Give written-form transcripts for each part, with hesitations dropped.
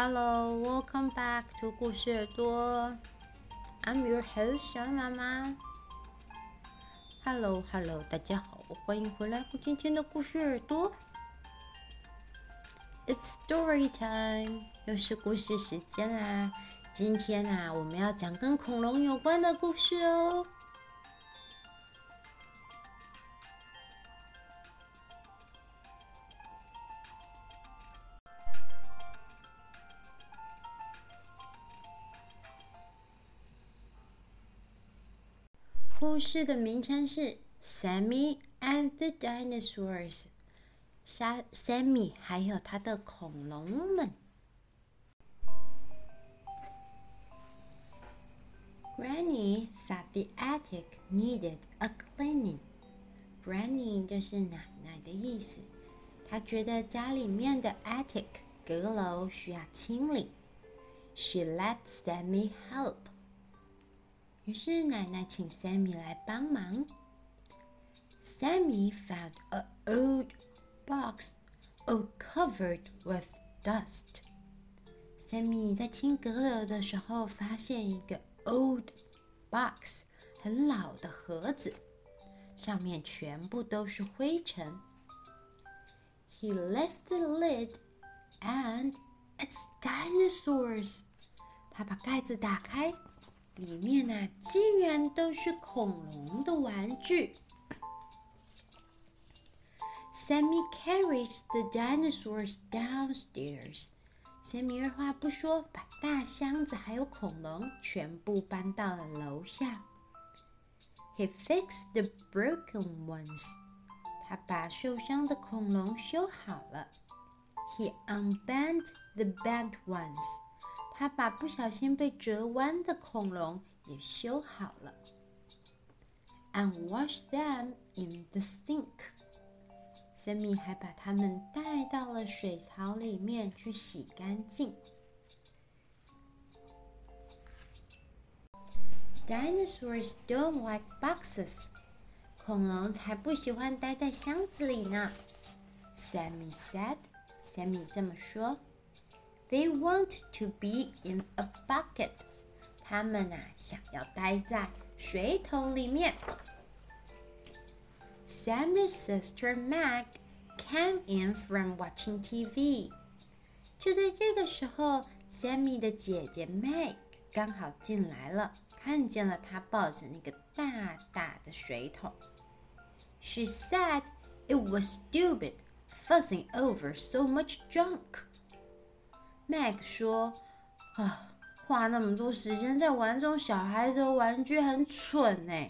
Hello, welcome back to 故事耳朵。I'm your host 小媽媽。Hello， 大家好，歡迎回來今天的故事耳朵。It's story time， 又是故事時間啦。今天我們要講跟恐龍有關的故事哦。故事的名稱是 Sammy and the Dinosaurs， Sammy 還有他的恐龍們。Granny thought the attic needed a cleaning. Granny 就是奶奶的意思，她覺得家裡面的 attic 閣樓需要清理。She let Sammy help.於是奶奶請 Sammy 來幫忙。Sammy found an old box all covered with dust. Sammy 在清閣樓的時候發現一個 old box， 很老的盒子，上面全部都是灰塵。He lifted the lid and it's dinosaurs. 他把蓋子打開。裡面竟然都是恐龍的玩具。Sammy carries the dinosaurs downstairs. Sammy 二話不說，把大箱子還有恐龍全部搬到了樓下。He fixed the broken ones. 他把受傷的恐龍修好了。He unbent the bent ones.他把不小心被折彎的恐龍也修好了 and washed them in the sink. Sammy 還把它們帶到了水槽裡面去洗乾淨。Dinosaurs don't like boxes. 恐龍才不喜歡待在箱子裡呢。Sammy said. Sammy 這麼說。They want to be in a bucket. 他們想要待在水桶裡面。Sammy's sister Meg came in from watching TV. 就在這個時候 ，Sammy 的姐姐 Meg 剛好進來了，看見了她抱着那個大大的水桶。She said it was stupid, fussing over so much junk.Meg 說：“花那麼多時間在玩這種小孩子的玩具很蠢呢。”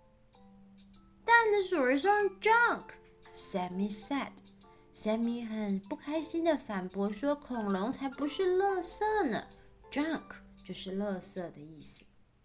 Dinosaurs aren't junk, Sammy said. Sammy 很不開心的反駁說：“恐龍才不是垃圾呢 ，junk 就是垃圾的意思。”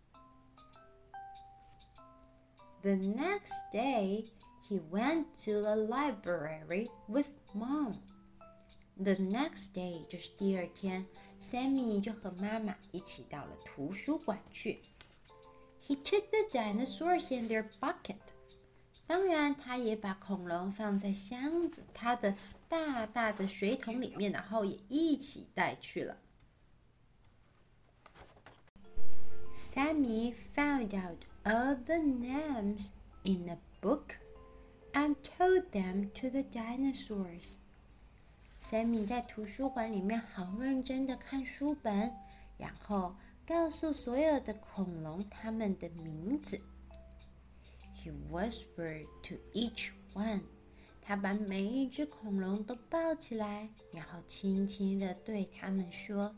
The next day, he went to the library with Mom.The next day 就是第二天 ，Sammy 就和媽媽一起到了圖書館去。He took the dinosaurs in their bucket. 當然，他也把恐龍放在箱子，他的大大的水桶裡面，然後也一起帶去了。Sammy found out all the names in a book and told them to the dinosaurs.Sammy 在圖書館裡面好認真的看書本，然後告訴所有的恐龍它們的名字。He whispered to each one. 他把每一隻恐龍都抱起來，然後輕輕地對它們說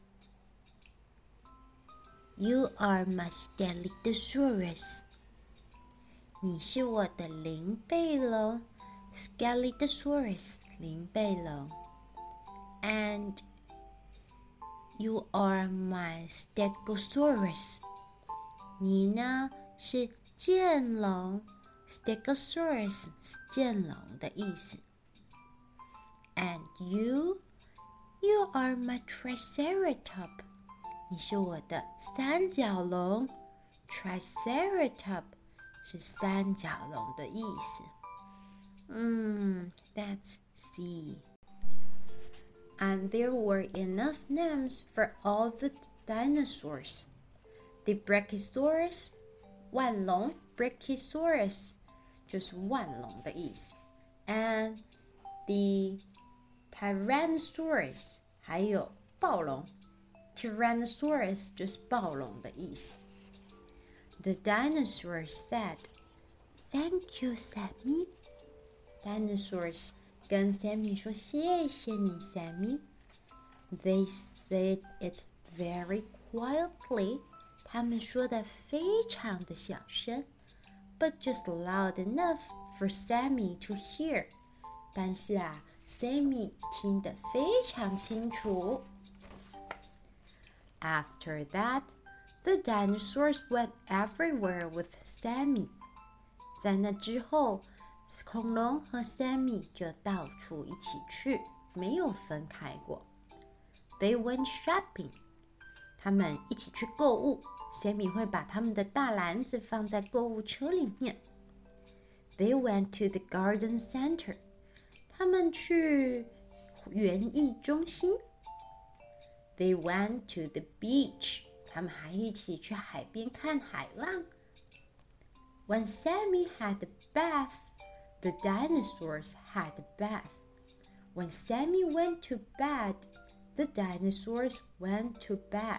You are my Scelidosaurus. 你是我的靈背龍 Scelidosaurus.靈背龍 And you are my Stegosaurus. 你呢是劍龍 Stegosaurus 是劍龍的意思 And you are my Triceratop. 你是我的三角龍 Triceratop 是三角龍的意思。Let's see. and there were enough names for all the dinosaurs. The Brachiosaurus, 腕龙 Brachiosaurus 就是腕龙的意思 and the Tyrannosaurus 還有暴龍 Tyrannosaurus 就是暴龍的意思。The dinosaurs said, "Thank you, Sammy." Dinosaurs 跟 Sammy 說謝謝你 Sammy. They said it very quietly. 他們說得非常的小聲 but just loud enough for Sammy to hear. 但是啊 Sammy 聽得非常清楚。After that, the dinosaurs went everywhere with Sammy. 在那之後，恐龍和 Sammy 就到處一起去，沒有分開過。They went shopping. 他們一起去購物 ，Sammy 會把他們的大籃子放在購物車裡面。They went to the garden center. 他們去園藝中心。They went to the beach. 他們還一起去海邊看海浪。When Sammy had a bath, the dinosaurs had a bath. When Sammy went to bed, the dinosaurs went to bed.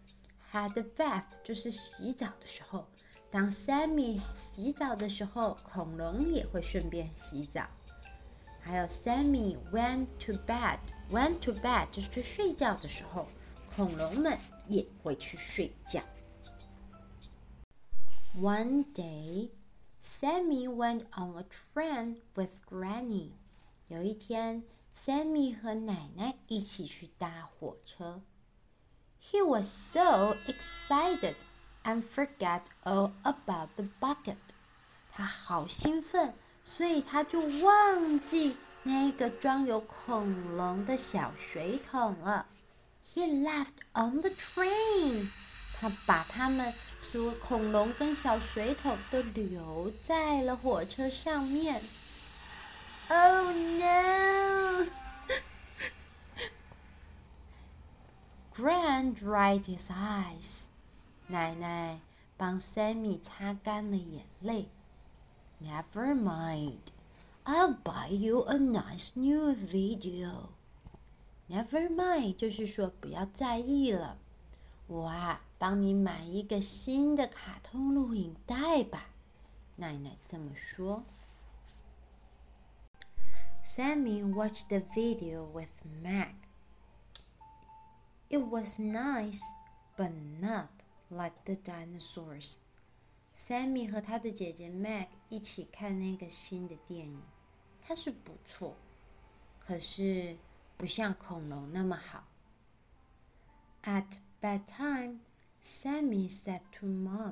Had a bath 就是洗澡的时候。當 Sammy 洗澡的時候，恐龍也會順便洗澡。還有 Sammy went to bed. Went to bed 就是去睡覺的時候，恐龍們也會去睡覺。One day, Sammy went on a train with Granny. 有一天 Sammy 和奶奶一起去搭火車。He was so excited and forgot all about the bucket. 他好興奮，所以他就忘記那個裝有恐龍的小水桶了。He left on the train. 他把他們所有恐龍跟小水桶都留在了火車上面。Oh no! Gran dried his eyes. 奶奶幫 Sammy 擦乾了眼淚。Never mind. I'll buy you a nice new video. Never mind 就是說不要在意了。我啊，幫你買一個新的卡通錄影帶吧。奶奶這麼說。Sammy watched the video with Meg. It was nice, but not like the dinosaurs. Sammy 和他的姐姐 Meg 一起看那個新的電影，它是不錯，可是不像恐龍那麼好。At bedtime, Sammy said to Mom,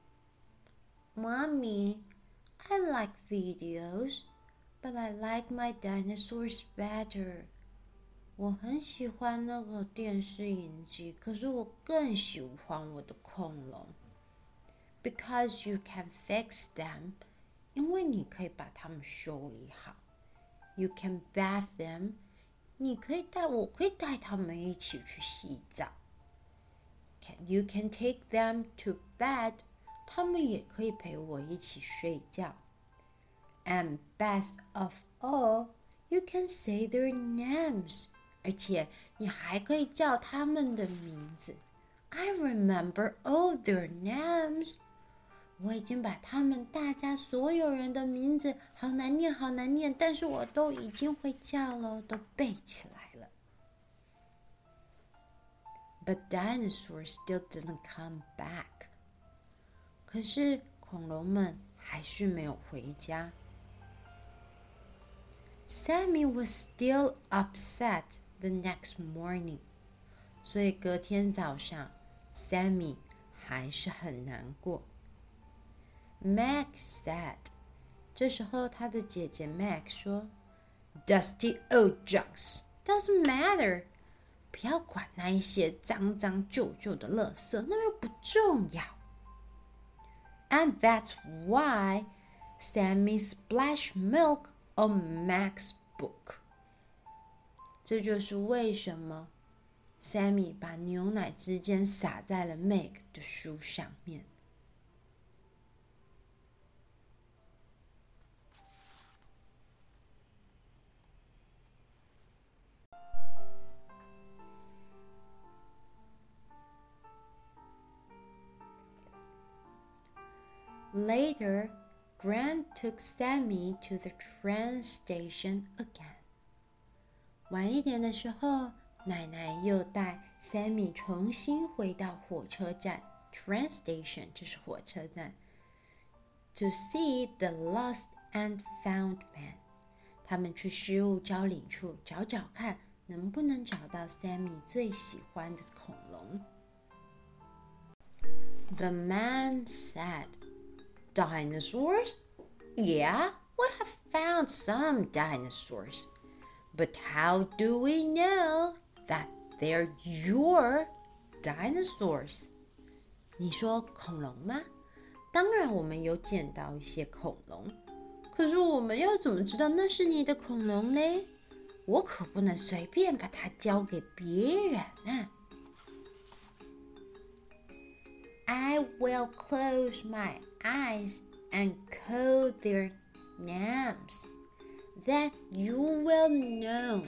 "Mommy, I like videos, but I like my dinosaurs better." 我很喜歡那個電視影集，可是我更喜歡我的恐龍。Because you can fix them, 因為你可以把它們修理好。You can bath them, 我可以帶他們一起去洗澡。You can take them to bed, 他們也可以陪我一起睡覺。And best of all, you can say their names. 而且你還可以叫他們的名字。I remember all their names. 我已經把他們大家所有人的名字好難念，但是我都已經會叫了，都背起來了。But dinosaurs still didn't come back. 可是恐龍們還是沒有回家。Sammy was still upset the next morning. 所以隔天早上 Sammy 還是很難過。Meg said. 這時候他的姐姐 Meg 說 Dusty old junks. Doesn't matter. 不要管那一些髒舊的垃圾，那又不重要。And that's why Sammy splashed milk on Meg's book. 這就是為什麼 Sammy 把牛奶之間灑在了 Meg 的書上面。Later, Gran took Sammy to the train station again. 晚一點的時候，奶奶又帶 Sammy 重新回到火車站 train station 就是火車站 to see the lost and found man. 他們去失物招領處找找看，能不能找到 Sammy 最喜歡的恐龍。The man said,Dinosaurs? Yeah, we have found some dinosaurs. But how do we know that they're your dinosaurs? 你說恐龍嗎？當然我們有撿到一些恐龍，可是我們要怎麼知道那是你的恐龍呢？我可不能隨便把它交給別人啊。I will close my eyes and call their names. Then you will know.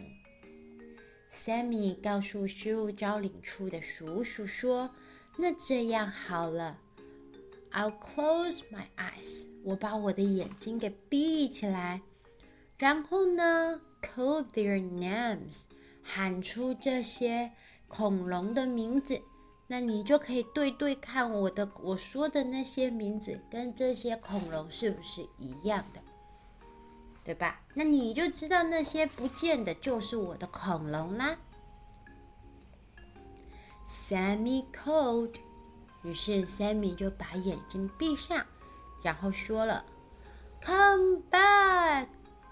Sammy 告訴失物招領處的叔叔說：“那這樣好了 ，I'll close my eyes. 我把我的眼睛給閉起來，然後呢 ，call their names. 喊出這些恐龍的名字。”那你就可以對對看我說的那些名字跟這些恐龍是不是一樣的，對吧？那你就知道那些不見的就是我的恐龍啦。Sammy called， 於是 Sammy 就把眼睛閉上，然後說了 ，Come back,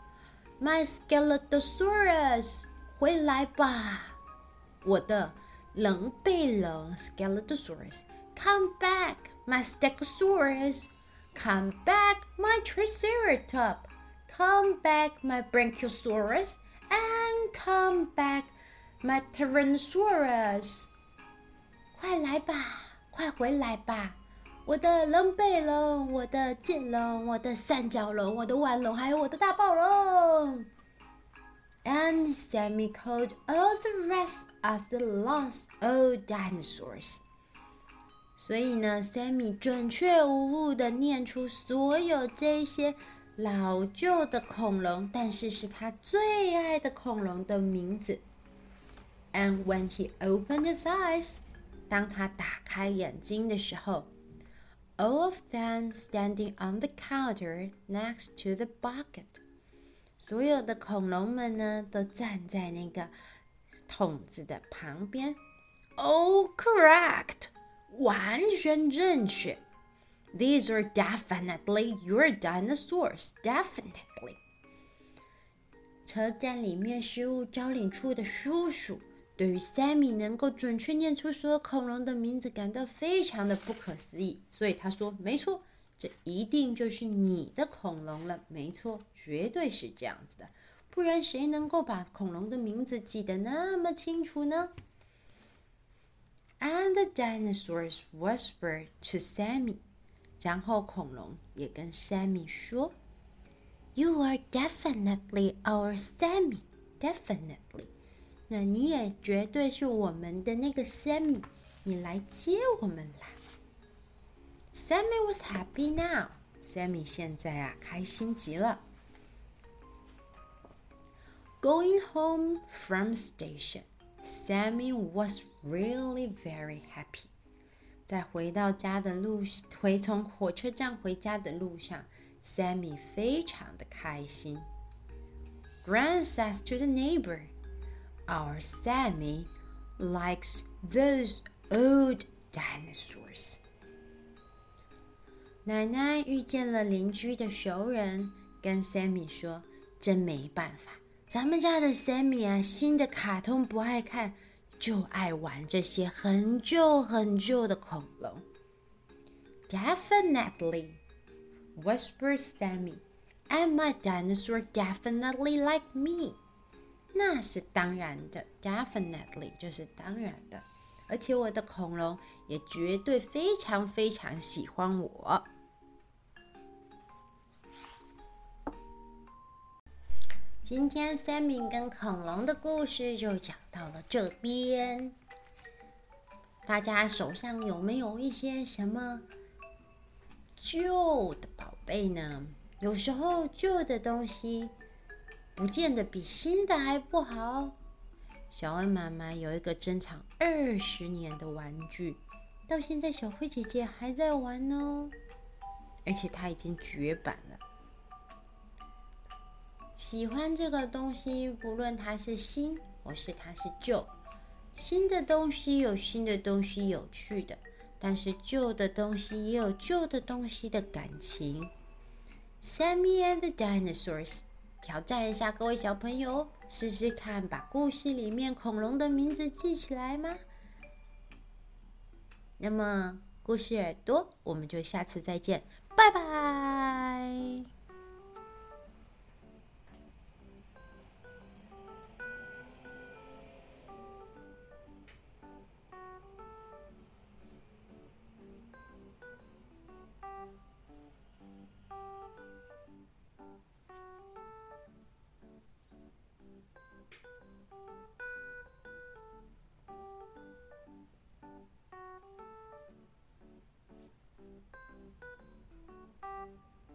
my Skeletosaurus， 回來吧，我的棱背龍 Skeletosaurus, come back, my Stegosaurus. Come back, my Triceratops. Come back, my Brachiosaurus. And come back, my Tyrannosaurus. 快來吧，快回來吧，我的棱背龍，我的剑龍，我的三角龍，我的腕龍，還有我的大暴龍。And Sammy called all the rest of the lost old dinosaurs. 所以呢 ，Sammy 準確無誤地念出所有這些老舊的恐龍，但是是他最愛的恐龍的名字。And when he opened his eyes, 當他打開眼睛的時候 ，all of them standing on the counter next to the bucket.所有的恐龍們呢，都站在那個桶子的旁邊。Oh, correct! 完全正確。These are definitely your dinosaurs. Definitely. 車站裡面失物招領處的叔叔對於 Sammy 能夠準確念出所有恐龍的名字感到非常的不可思議，所以他說：“沒錯。”這一定就是你的恐龍了，沒錯，絕對是這樣子的，不然誰能夠把恐龍的名字記得那麼清楚呢？ And the dinosaurs whispered to Sammy， 然後恐龍也跟 Sammy 說 You are definitely our Sammy, definitely。那你也絕對是我們的那個 Sammy， 你來接我們啦。Sammy was happy now. Sammy 現在開心極了。Going home from station, Sammy was really very happy. 在从火車站回家的路上 ，Sammy 非常的開心。Gran says to the neighbor, "Our Sammy likes those old dinosaurs." 奶奶遇見了鄰居的熟人，跟 Sammy 說：“真沒辦法，咱們家的 Sammy 啊，新的卡通不愛看，就愛玩這些很舊很舊的恐龍。” Definitely, whispered Sammy, and my dinosaur definitely like me. 那是當然的 ，definitely 就是當然的。而且我的恐龍也絕對非常非常喜歡我。今天Sammy跟恐龍的故事就講到了這邊。大家手上有沒有一些什麼舊的寶貝呢？有時候舊的東西不見得比新的還不好。小恩媽媽有一個珍藏20年的玩具，到現在小慧姐姐還在玩哦，而且它已經絕版了。喜歡這個東西，不論它是新或是它是舊。新的東西有新的東西有趣的，但是舊的東西也有舊的東西的感情。Sammy and the Dinosaurs， 挑戰一下各位小朋友，試試看把故事裡面恐龍的名字記起來嗎？那麼故事耳朵，我們就下次再見，拜拜。